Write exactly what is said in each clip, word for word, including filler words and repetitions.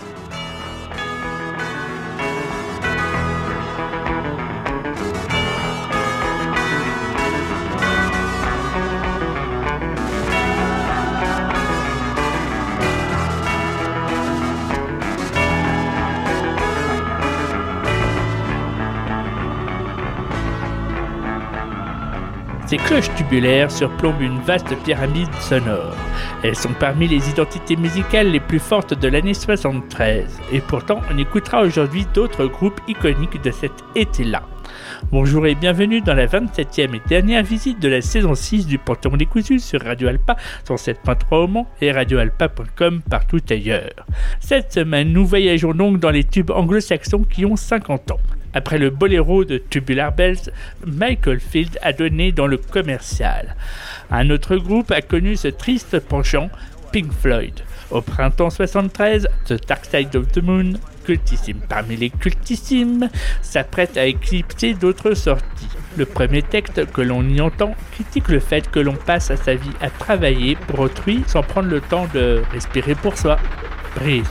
Ces cloches tubulaires surplombent une vaste pyramide sonore. Elles sont parmi les identités musicales les plus fortes de l'année soixante-treize. Et pourtant, on écoutera aujourd'hui d'autres groupes iconiques de cet été-là. Bonjour et bienvenue dans la vingt-septième et dernière visite de la saison six du Panthéon décousu sur Radio Alpa cent sept point trois au Mans et radio alpa point com partout ailleurs. Cette semaine, nous voyageons donc dans les tubes anglo-saxons qui ont cinquante ans. Après le boléro de Tubular Bells, Michael Field a donné dans le commercial. Un autre groupe a connu ce triste penchant, Pink Floyd. Au printemps soixante-treize, The Dark Side of the Moon, cultissime parmi les cultissimes, s'apprête à éclipser d'autres sorties. Le premier texte que l'on y entend critique le fait que l'on passe sa vie à travailler pour autrui sans prendre le temps de respirer pour soi. Breathe.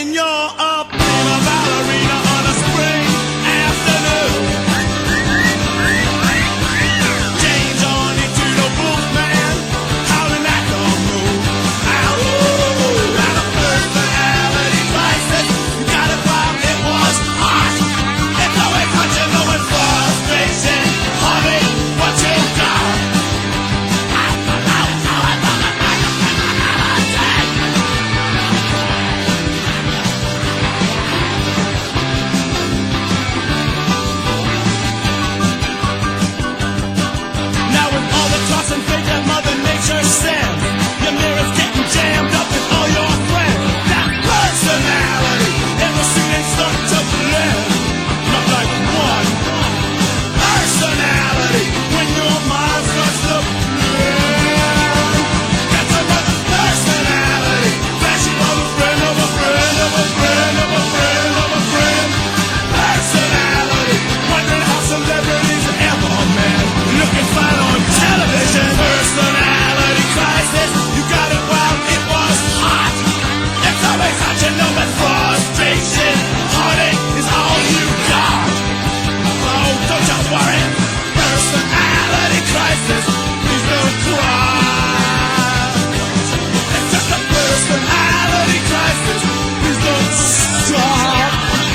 when you're a prima ballerina on a spring afternoon. Change on into the Wolfman, howling at the moon. Ow, out of personality crisis, you got it while it was hot. It's always hot, you know it's frustration, honey, what you got? Sends. Your mirror's getting jammed up with all your friends. That personality in the suit ain't starting to blend. Not like one personality when your mind starts to blend. That's another personality flashing on a friend of a friend of a friend of a friend of a friend. Personality wondering how celebrities ever met. Looking fine on television. Personality crisis, you got it while it was hot. It's always hot, you know that frustration, heartache is all you got. Oh, don't you worry, personality crisis, please don't cry. It's just a personality crisis, please don't stop.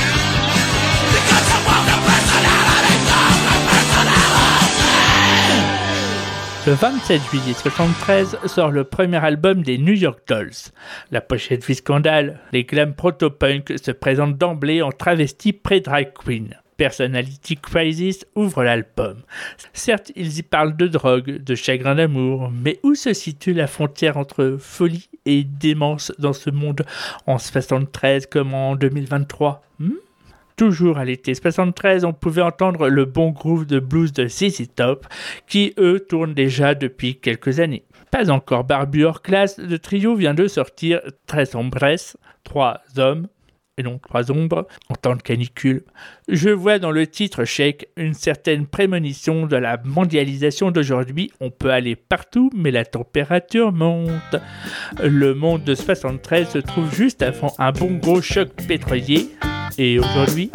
Because you want a personality, not a personality. Le vingt-sept juillet soixante-treize sort le premier album des New York Dolls. La pochette vit scandale, les glam proto-punk se présentent d'emblée en travesti pré-drag queen. Personality Crisis ouvre l'album. Certes, ils y parlent de drogue, de chagrin d'amour, mais où se situe la frontière entre folie et démence dans ce monde en soixante-treize comme en deux mille vingt-trois hmm? Toujours à l'été soixante-treize, on pouvait entendre le bon groove de blues de Z Z Top, qui eux tournent déjà depuis quelques années. Pas encore barbu hors classe, le trio vient de sortir Tres Hombres, trois hommes, et non trois ombres, en temps de canicule. Je vois dans le titre Shake une certaine prémonition de la mondialisation d'aujourd'hui. On peut aller partout, mais la température monte. Le monde de soixante-treize se trouve juste avant un bon gros choc pétrolier. Et aujourd'hui...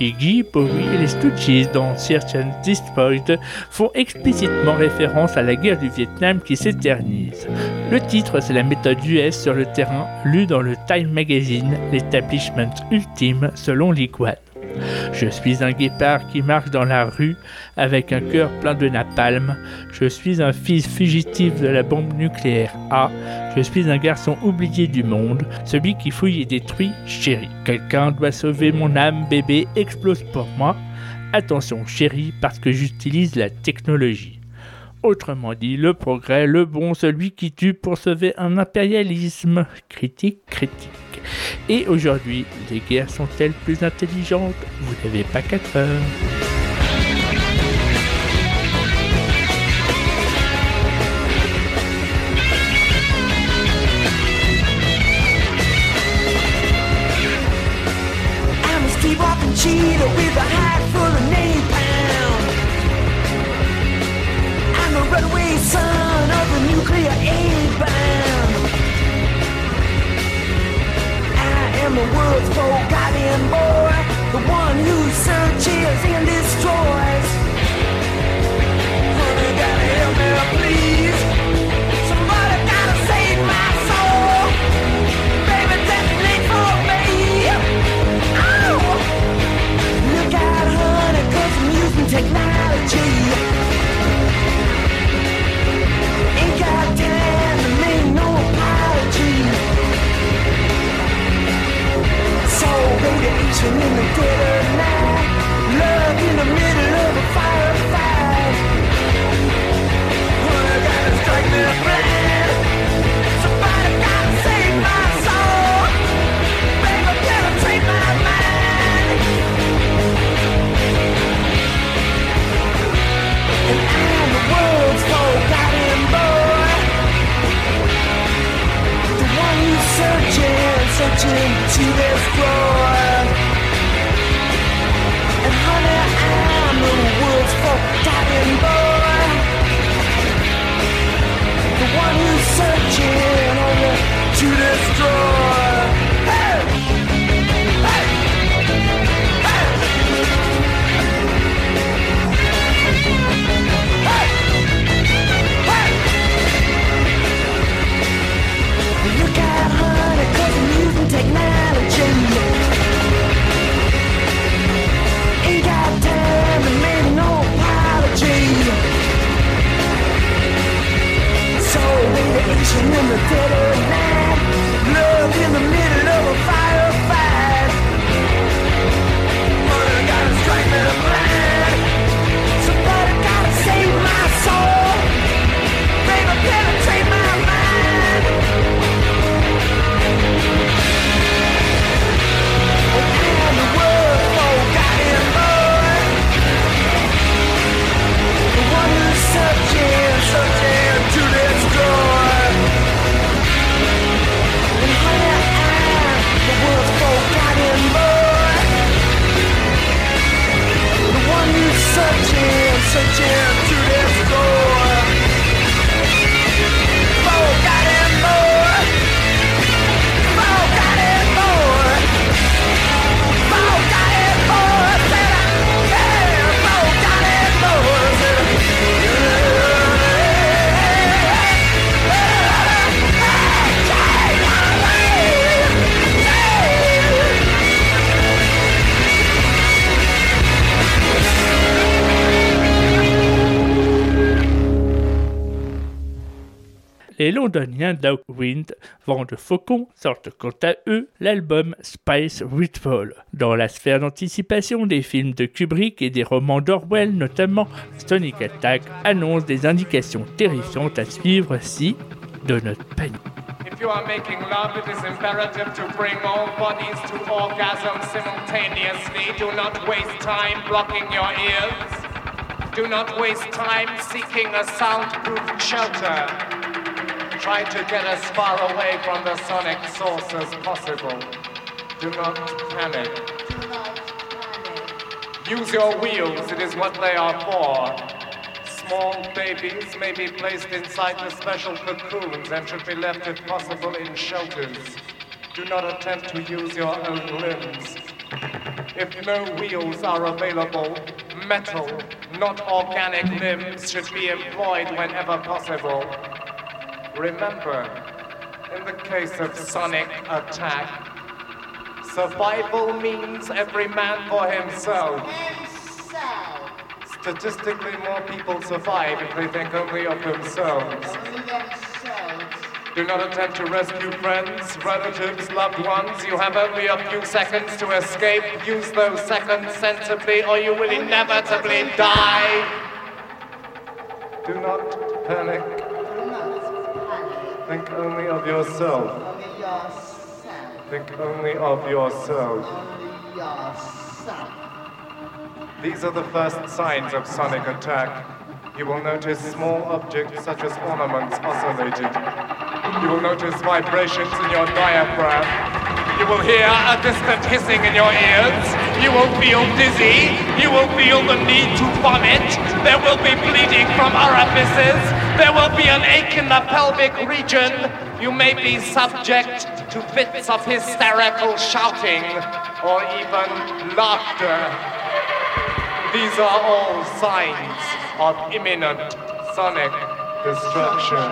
Iggy, Bowie et les Stooges dans Search and Destroy font explicitement référence à la guerre du Vietnam qui s'éternise. Le titre, c'est la méthode U S sur le terrain, lue dans le Time Magazine, l'établissement ultime selon l'Iguane. Je suis un guépard qui marche dans la rue avec un cœur plein de napalm. Je suis un fils fugitif de la bombe nucléaire A. Je suis un garçon oublié du monde, celui qui fouille et détruit chéri. Quelqu'un doit sauver mon âme, bébé, explose pour moi. Attention chéri, parce que j'utilise la technologie. Autrement dit, le progrès, le bon, celui qui tue pour sauver un impérialisme. Critique, critique. Et aujourd'hui, les guerres sont-elles plus intelligentes? Vous n'avez pas quatre heures. I'm a sleepwalking cheetah with a hide full of napalm. I'm the runaway son of a nuclear A-bomb. I am the world's forgotten boy, the one who searches and destroys. Honey, gotta help me, please. Somebody gotta save my soul. Baby, detonate for me. Oh! Look out, honey, 'cause I'm using technology. Ain't got time to make no apology. So radiation in the dead of night, love in the middle of a firefight. Honey, gotta strike me blind. Somebody gotta save my soul. Baby, penetrate my mind. And I'm the world's forgotten boy, the one who's searching, searching to destroy. And honey, I'm the world's forgotten boy, the one who's searching only to destroy. Hey! Hey! Hey! Hey! Hey! Look out, honey, 'cause I'm using technology. Ain't got time to make no apology. So radiation in the dead of night, love in the middle of a firefight. Honey, gotta strike me blind. Somebody gotta save my soul. Baby, penetrate my mind. I'm the world's forgotten boy, the one who's searching, searching to destroy. And honey, I'm the world's forgotten boy, the one who's searching, searching to destroy. Forgotten boy, forgotten boy. Forgotten boy, said I, yeah, forgotten boy, said I. Les londoniens Downwind, Vent de Faucon, sortent quant à eux l'album Space Withdrawal. Dans la sphère d'anticipation des films de Kubrick et des romans d'Orwell notamment, Sonic Attack annonce des indications terrifiantes à suivre si, de notre panique. If you are making love, it is imperative to bring all bodies to orgasm simultaneously. Do not waste time blocking your ears. Do not waste time seeking a soundproof shelter. Try to get as far away from the sonic source as possible. Do not panic. Use your wheels, it is what they are for. Small babies may be placed inside the special cocoons and should be left if possible in shelters. Do not attempt to use your own limbs. If no wheels are available, metal, not organic limbs should be employed whenever possible. Remember, in the case of sonic attack, survival means every man for himself. Himself. Statistically, more people survive if they think only of themselves. Only themselves. Do not attempt to rescue friends, relatives, loved ones. You have only a few seconds to escape. Use those seconds sensibly or you will inevitably die. Do not panic. Do not panic. Think only of yourself. Only yourself. Think only of yourself. Only yourself. These are the first signs of sonic attack. You will notice small objects such as ornaments oscillating. You will notice vibrations in your diaphragm. You will hear a distant hissing in your ears. You will feel dizzy. You will feel the need to vomit. There will be bleeding from orifices. There will be an ache in the pelvic region. You may be subject to fits of hysterical shouting or even laughter. These are all signs of imminent sonic destruction.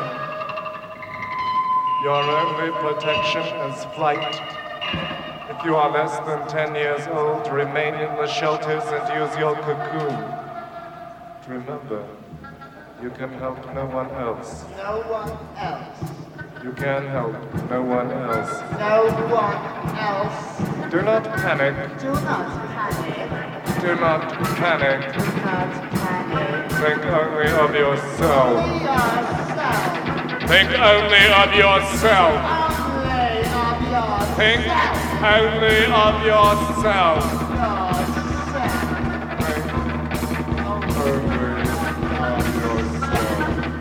Your only protection is flight. If you are less than ten years old, remain in the shelters and use your cocoon. Remember, you can help no one else. No one else. You can help no one else. No one else. Do not panic. Do not panic. Do not panic. Do not panic. Think only of yourself. Only yourself. Think only of yourself. Only of yourself. Think only of yourself. Yourself. Think only of yourself.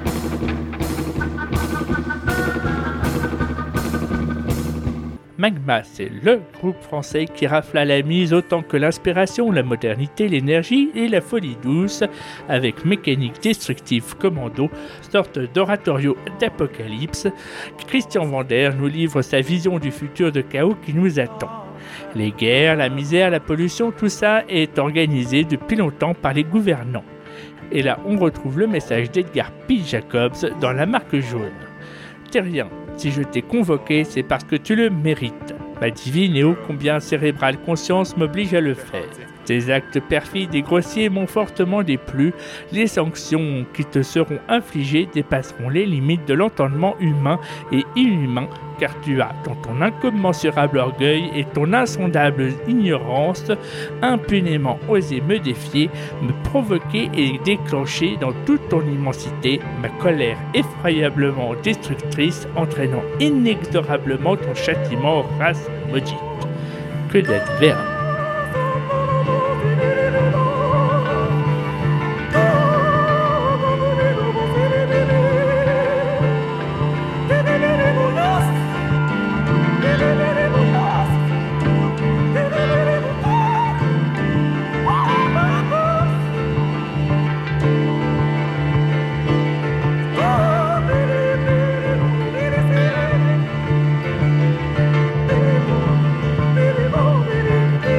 Magma, c'est le groupe français qui rafle à la mise autant que l'inspiration, la modernité, l'énergie et la folie douce, avec Mécanique Destructive Commando, sorte d'oratorio d'apocalypse. Christian Vander nous livre sa vision du futur de chaos qui nous attend. Les guerres, la misère, la pollution, tout ça est organisé depuis longtemps par les gouvernants. Et là, on retrouve le message d'Edgar P. Jacobs dans La Marque Jaune. Terrien, si je t'ai convoqué, c'est parce que tu le mérites. Ma divine et ô combien cérébrale conscience m'oblige à le faire. Tes actes perfides et grossiers m'ont fortement déplu. Les sanctions qui te seront infligées dépasseront les limites de l'entendement humain et inhumain, car tu as, dans ton incommensurable orgueil et ton insondable ignorance, impunément osé me défier, me provoquer et déclencher dans toute ton immensité ma colère effroyablement destructrice, entraînant inexorablement ton châtiment, race maudite. Que d'adverbe. Baby,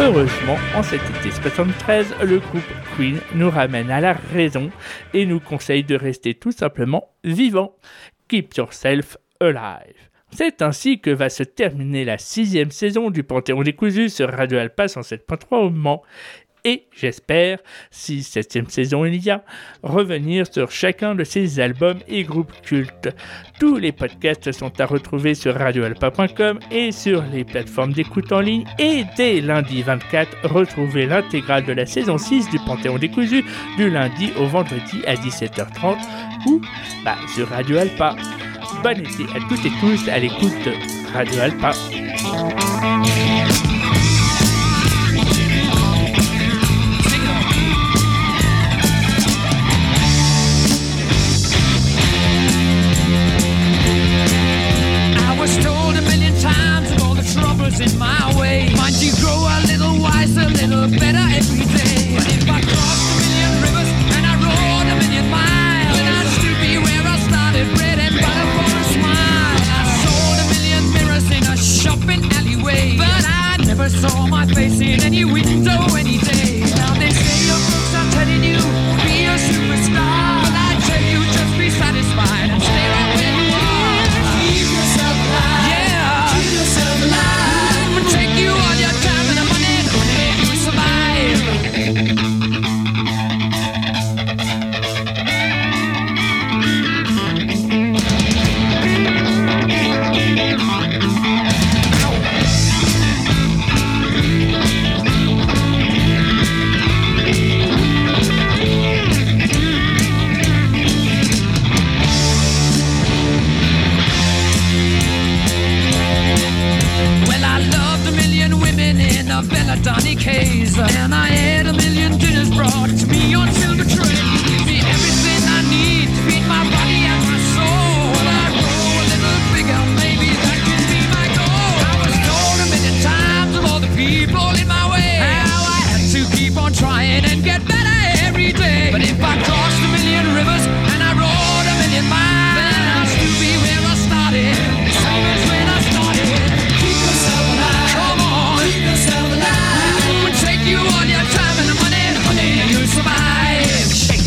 Heureusement, en cet été soixante-treize, le groupe Queen nous ramène à la raison et nous conseille de rester tout simplement vivant. Keep yourself alive. C'est ainsi que va se terminer la sixième saison du Panthéon décousu sur Radio Alpa cent sept point trois au Mans. Et j'espère, si septième saison il y a, revenir sur chacun de ces albums et groupes cultes. Tous les podcasts sont à retrouver sur radio alpa point com et sur les plateformes d'écoute en ligne. Et dès lundi vingt-quatre, retrouvez l'intégrale de la saison six du Panthéon décousu du lundi au vendredi à dix-sept heures trente ou bah, sur Radio Alpa. Bon été à toutes et tous à l'écoute de Radio Alpa. In my way, might you grow a little wiser, a little better every day. But if I crossed a million rivers and I rode a million miles, then I'd still be where I started, bread and butter for a smile. I sold a million mirrors in a shopping alleyway, but I never saw my face in any window any day. Now they say your books are telling you be a superstar, but I tell you just be satisfied and stay right where you are. Keep yourself alive. Yeah. Keep yourself alive. Take you all your time and the money, the money you survive. Belladonna case, and I had a million dinners brought to me on silver tray. Give me everything I need to feed my body and my soul. Well, I grow a little bigger, maybe that could be my goal. I was told a million times of all the people in my way how I had to keep on trying and get better every day. But if I crossed a million rivers and I rode a million miles, then I'll still be where I started, the same as when I started. Keep yourself alive. Come on. Keep yourself alive. Take you all your time and the money, the money, and you'll survive. Shake.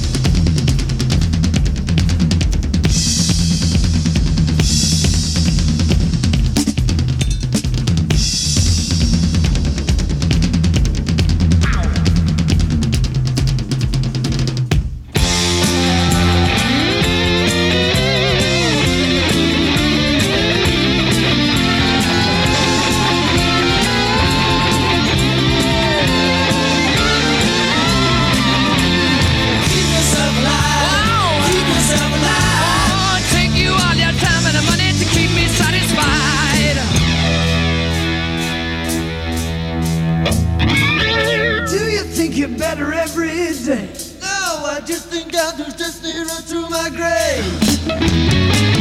Better every day. No, I just think I'll just stay right through my grave.